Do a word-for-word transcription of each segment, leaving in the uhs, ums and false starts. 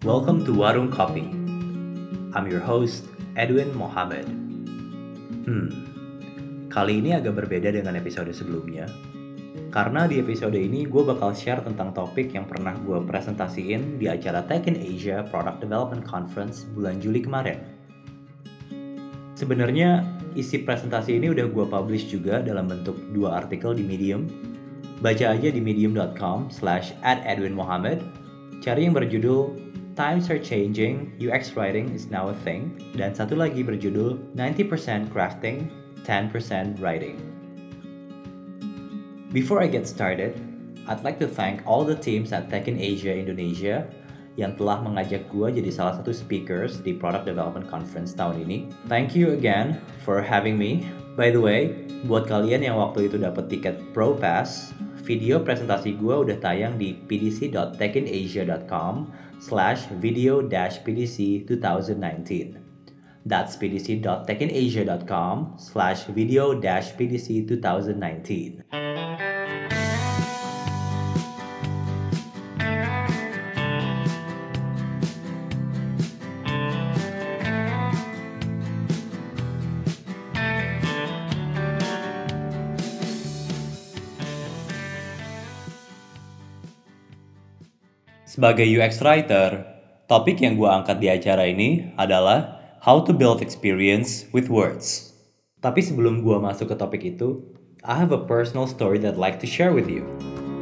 Welcome to Warung Kopi. I'm your host, Edwin Mohammed. Hmm, kali ini agak berbeda dengan episode sebelumnya. Karena di episode ini gue bakal share tentang topik yang pernah gue presentasiin di acara Tech in Asia Product Development Conference bulan Juli kemarin. Sebenarnya isi presentasi ini udah gue publish juga dalam bentuk dua artikel di Medium. Baca aja di medium.com slash at Edwin Mohammed. Cari yang berjudul Times are changing, U X writing is now a thing. Dan satu lagi berjudul ninety percent crafting, ten percent writing. Before I get started, I'd like to thank all the teams at Tech in Asia Indonesia yang telah mengajak gue jadi salah satu speakers di Product Development Conference tahun ini. Thank you again for having me. By the way, buat kalian yang waktu itu dapat tiket Pro Pass, video presentasi gue udah tayang di pdc.techinasia.com slash video dash pdc twenty nineteen. That's pdc.techinasia.com slash video dash pdc twenty nineteen. Sebagai U X writer, topik yang gue angkat di acara ini adalah how to build experience with words. Tapi sebelum gue masuk ke topik itu, I have a personal story that I'd like to share with you.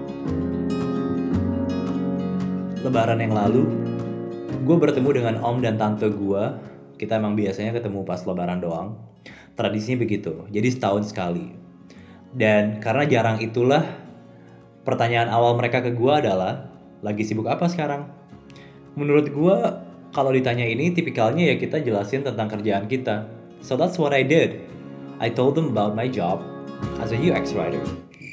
Lebaran yang lalu, gue bertemu dengan om dan tante gue. Kita emang biasanya ketemu pas lebaran doang. Tradisinya begitu, jadi setahun sekali. Dan karena jarang itulah, pertanyaan awal mereka ke gue adalah, lagi sibuk apa sekarang? Menurut gue, kalau ditanya ini tipikalnya ya kita jelasin tentang kerjaan kita. So that's what I did. I told them about my job as a U X writer.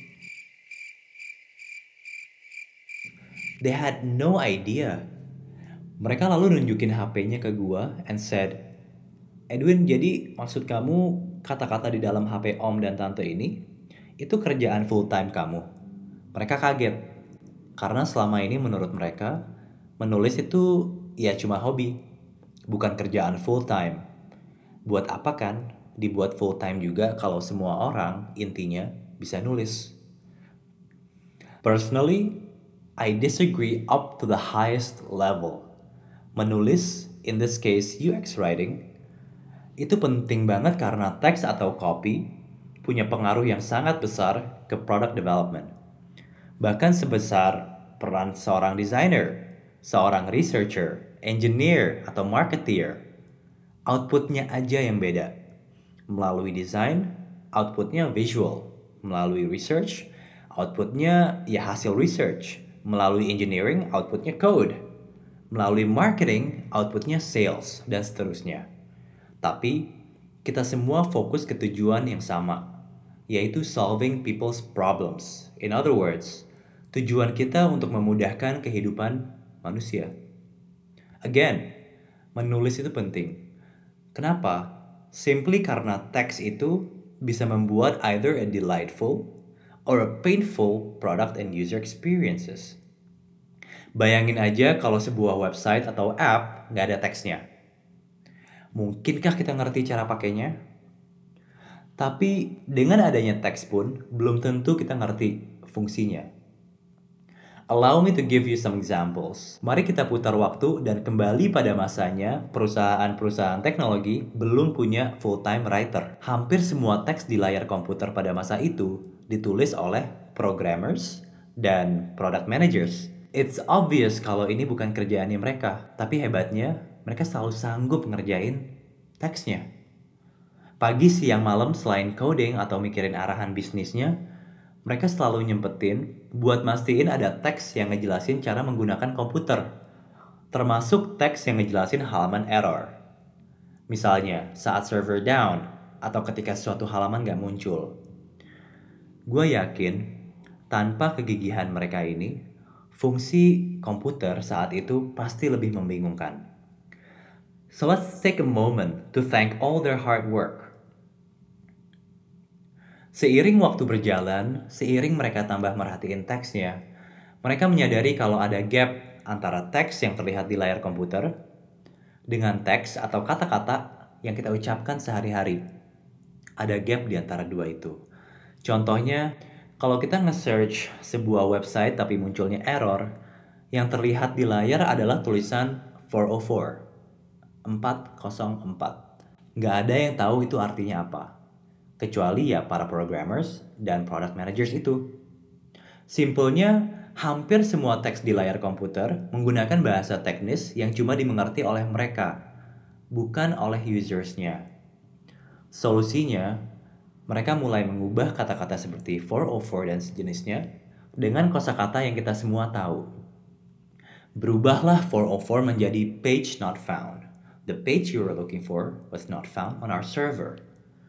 They had no idea. Mereka lalu nunjukin H P-nya ke gue and said, Edwin, jadi maksud kamu kata-kata di dalam H P om dan tante ini, itu kerjaan full time kamu? Mereka kaget. Karena selama ini menurut mereka, menulis itu ya cuma hobi, bukan kerjaan full time. Buat apa kan dibuat full time juga kalau semua orang intinya bisa nulis? Personally, I disagree up to the highest level. Menulis, in this case U X writing, itu penting banget karena teks atau copy punya pengaruh yang sangat besar ke product development. Bahkan sebesar peran seorang designer, seorang researcher, engineer, atau marketeer. Outputnya aja yang beda. Melalui design, outputnya visual. Melalui research, outputnya ya hasil research. Melalui engineering, outputnya code. Melalui marketing, outputnya sales, dan seterusnya. Tapi, kita semua fokus ke tujuan yang sama, yaitu solving people's problems. In other words, tujuan kita untuk memudahkan kehidupan manusia. Again, menulis itu penting. Kenapa? Simply karena teks itu bisa membuat either a delightful or a painful product and user experiences. Bayangin aja kalau sebuah website atau app nggak ada teksnya. Mungkinkah kita ngerti cara pakainya? Tapi dengan adanya teks pun belum tentu kita ngerti fungsinya. Allow me to give you some examples. Mari kita putar waktu dan kembali pada masanya perusahaan-perusahaan teknologi belum punya full-time writer. Hampir semua teks di layar komputer pada masa itu ditulis oleh programmers dan product managers. It's obvious kalau ini bukan kerjaannya mereka, tapi hebatnya mereka selalu sanggup ngerjain teksnya. Pagi, siang, malam selain coding atau mikirin arahan bisnisnya, mereka selalu nyempetin buat mastiin ada teks yang ngejelasin cara menggunakan komputer. Termasuk teks yang ngejelasin halaman error. Misalnya, saat server down atau ketika suatu halaman gak muncul. Gue yakin, tanpa kegigihan mereka ini, fungsi komputer saat itu pasti lebih membingungkan. So let's take a moment to thank all their hard work. Seiring waktu berjalan, seiring mereka tambah merhatiin teksnya, mereka menyadari kalau ada gap antara teks yang terlihat di layar komputer dengan teks atau kata-kata yang kita ucapkan sehari-hari. Ada gap di antara dua itu. Contohnya, kalau kita nge-search sebuah website tapi munculnya error, yang terlihat di layar adalah tulisan four oh four, empat nol empat. Nggak ada yang tahu itu artinya apa, kecuali ya para programmers dan product managers itu. Simpelnya, hampir semua teks di layar komputer menggunakan bahasa teknis yang cuma dimengerti oleh mereka, bukan oleh usersnya. Solusinya, mereka mulai mengubah kata-kata seperti four oh four dan sejenisnya dengan kosakata yang kita semua tahu. Berubahlah four oh four menjadi page not found. The page you were looking for was not found on our server.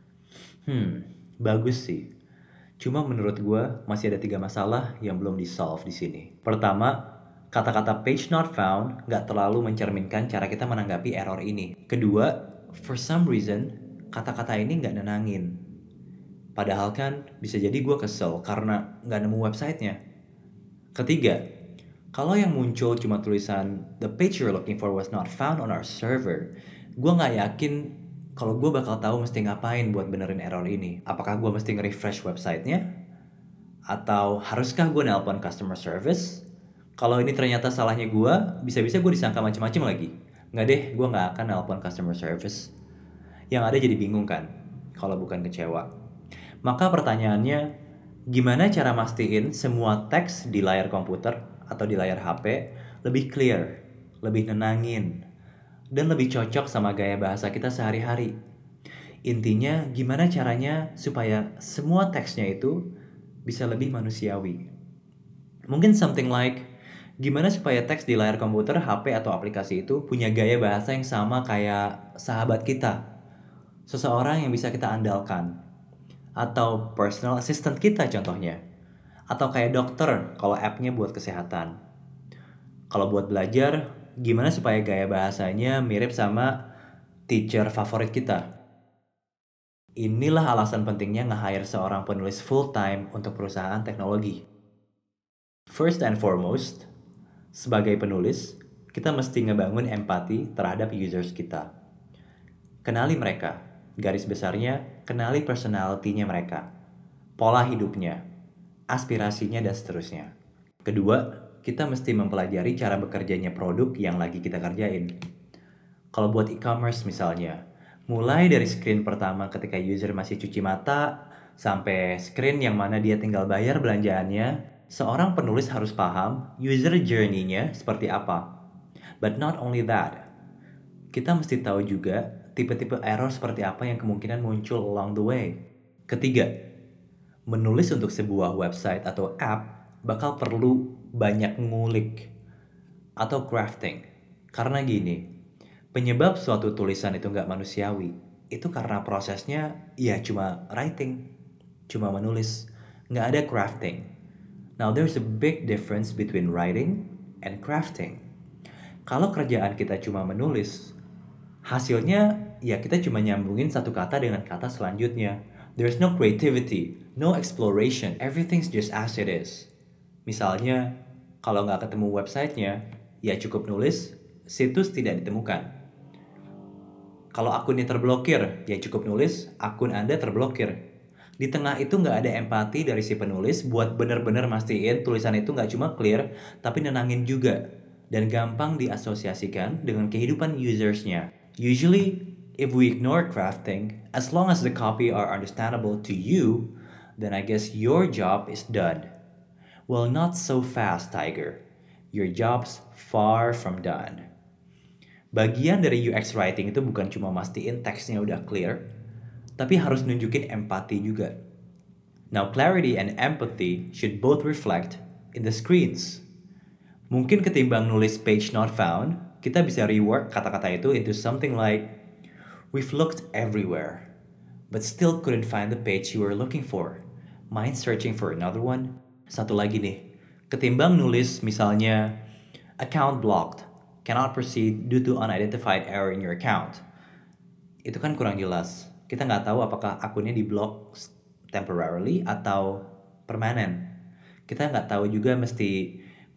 Hmm, bagus sih. Cuma menurut gue masih ada tiga masalah yang belum di-solve di sini. Pertama, kata-kata page not found nggak terlalu mencerminkan cara kita menanggapi error ini. Kedua, for some reason, kata-kata ini nggak nenangin. Padahal kan bisa jadi gue kesel karena nggak nemu websitenya. Ketiga, kalau yang muncul cuma tulisan the page you're looking for was not found on our server, gue nggak yakin kalau gue bakal tahu mesti ngapain buat benerin error ini. Apakah gue mesti nge-refresh websitenya? Atau haruskah gue nelpon customer service? Kalau ini ternyata salahnya gue, bisa-bisa gue disangka macam-macam lagi. Nggak deh, gue nggak akan nelpon customer service. Yang ada jadi bingung kan, kalau bukan kecewa. Maka pertanyaannya, gimana cara mastiin semua teks di layar komputer atau di layar H P lebih clear, lebih nenangin, dan lebih cocok sama gaya bahasa kita sehari-hari? Intinya, gimana caranya supaya semua teksnya itu bisa lebih manusiawi? Mungkin something like, gimana supaya teks di layar komputer, H P, atau aplikasi itu punya gaya bahasa yang sama kayak sahabat kita, seseorang yang bisa kita andalkan, atau personal assistant kita contohnya, atau kayak dokter kalau app-nya buat kesehatan. Kalau buat belajar, gimana supaya gaya bahasanya mirip sama teacher favorit kita? Inilah alasan pentingnya nge-hire seorang penulis full-time untuk perusahaan teknologi. First and foremost, sebagai penulis, kita mesti ngebangun empati terhadap users kita. Kenali mereka, garis besarnya, kenali personality-nya mereka, pola hidupnya, aspirasinya, dan seterusnya. Kedua, kita mesti mempelajari cara bekerjanya produk yang lagi kita kerjain. Kalau buat e-commerce misalnya, mulai dari screen pertama ketika user masih cuci mata, sampai screen yang mana dia tinggal bayar belanjaannya, seorang penulis harus paham user journey-nya seperti apa. But not only that, kita mesti tahu juga tipe-tipe error seperti apa yang kemungkinan muncul along the way. Ketiga, menulis untuk sebuah website atau app bakal perlu banyak ngulik atau crafting. Karena gini, penyebab suatu tulisan itu nggak manusiawi, itu karena prosesnya ya cuma writing, cuma menulis, nggak ada crafting. Now there's a big difference between writing and crafting. Kalau kerjaan kita cuma menulis, hasilnya ya kita cuma nyambungin satu kata dengan kata selanjutnya. There's no creativity, no exploration, everything's just as it is. Misalnya, kalau nggak ketemu websitenya, ya cukup nulis, situs tidak ditemukan. Kalau akunnya terblokir, ya cukup nulis, akun Anda terblokir. Di tengah itu nggak ada empati dari si penulis buat bener-bener mastiin tulisan itu nggak cuma clear, tapi nenangin juga. Dan gampang diasosiasikan dengan kehidupan usersnya. Usually, if we ignore crafting, as long as the copy are understandable to you, then I guess your job is done. Well, not so fast, Tiger. Your job's far from done. Bagian dari U X writing itu bukan cuma mastiin teksnya udah clear, tapi harus nunjukin empati juga. Now, clarity and empathy should both reflect in the screens. Mungkin ketimbang nulis page not found, kita bisa rework kata-kata itu into something like, we've looked everywhere, but still couldn't find the page you were looking for. Mind searching for another one? Satu lagi nih, ketimbang nulis misalnya, account blocked, cannot proceed due to unidentified error in your account. Itu kan kurang jelas. Kita nggak tahu apakah akunnya di-block temporarily atau permanen. Kita nggak tahu juga mesti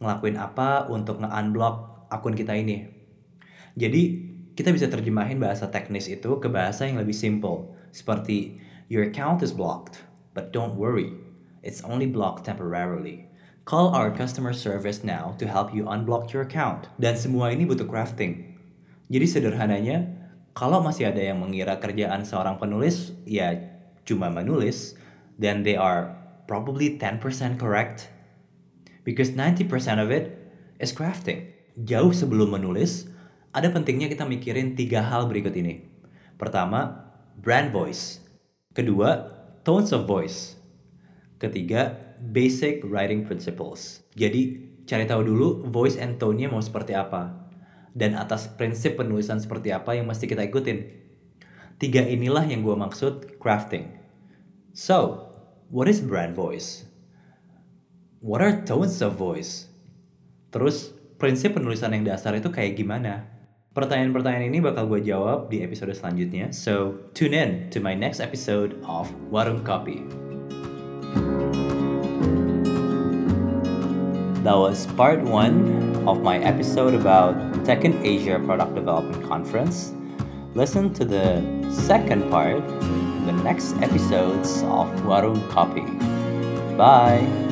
ngelakuin apa untuk nge-unblock akun kita ini. Jadi, kita bisa terjemahin bahasa teknis itu ke bahasa yang lebih simple. Seperti, your account is blocked, but don't worry, it's only blocked temporarily. Call our customer service now to help you unblock your account. Dan semua ini butuh crafting. Jadi sederhananya, kalau masih ada yang mengira kerjaan seorang penulis, ya cuma menulis, then they are probably ten percent correct. Because ninety percent of it is crafting. Jauh sebelum menulis, ada pentingnya kita mikirin tiga hal berikut ini. Pertama, brand voice. Kedua, tones of voice. Ketiga, basic writing principles. Jadi, cari tahu dulu voice and tone-nya mau seperti apa. Dan atas prinsip penulisan seperti apa yang mesti kita ikutin. Tiga inilah yang gue maksud crafting. So, what is brand voice? What are tones of voice? Terus, prinsip penulisan yang dasar itu kayak gimana? Pertanyaan-pertanyaan ini bakal gue jawab di episode selanjutnya. So, tune in to my next episode of Warung Kopi. That was part one of my episode about Tech in Asia Product Development Conference. Listen to the second part in the next episodes of Warung Kopi. Bye!